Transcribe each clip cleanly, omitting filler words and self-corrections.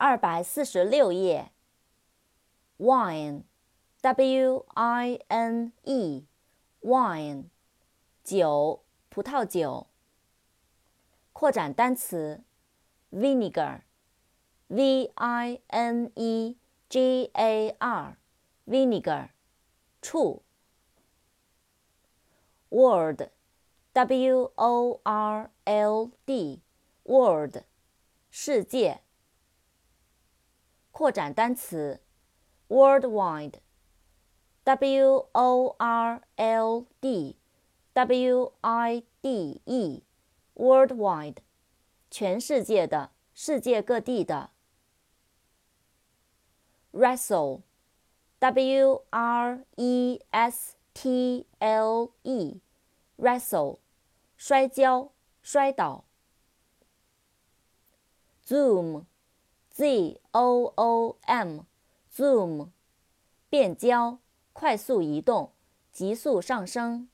246页 Wine W-I-N-E Wine 酒，葡萄酒。扩展单词 Vinegar V-I-N-E-G-A-R Vinegar 醋。World W-O-R-L-D World 世界。扩展单词 Worldwide W-O-R-L-D-W-I-D-E Worldwide 全世界的，世界各地的。Wrestle W-R-E-S-T-L-E Wrestle 摔跤，摔倒。Zoom Z-O-O-M Zoom 变焦，快速移动，急速上升。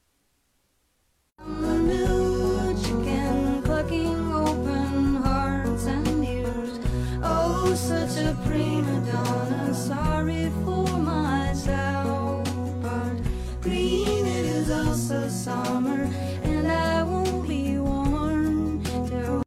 Such a prima donna, sorry for myself, but green it is also summer.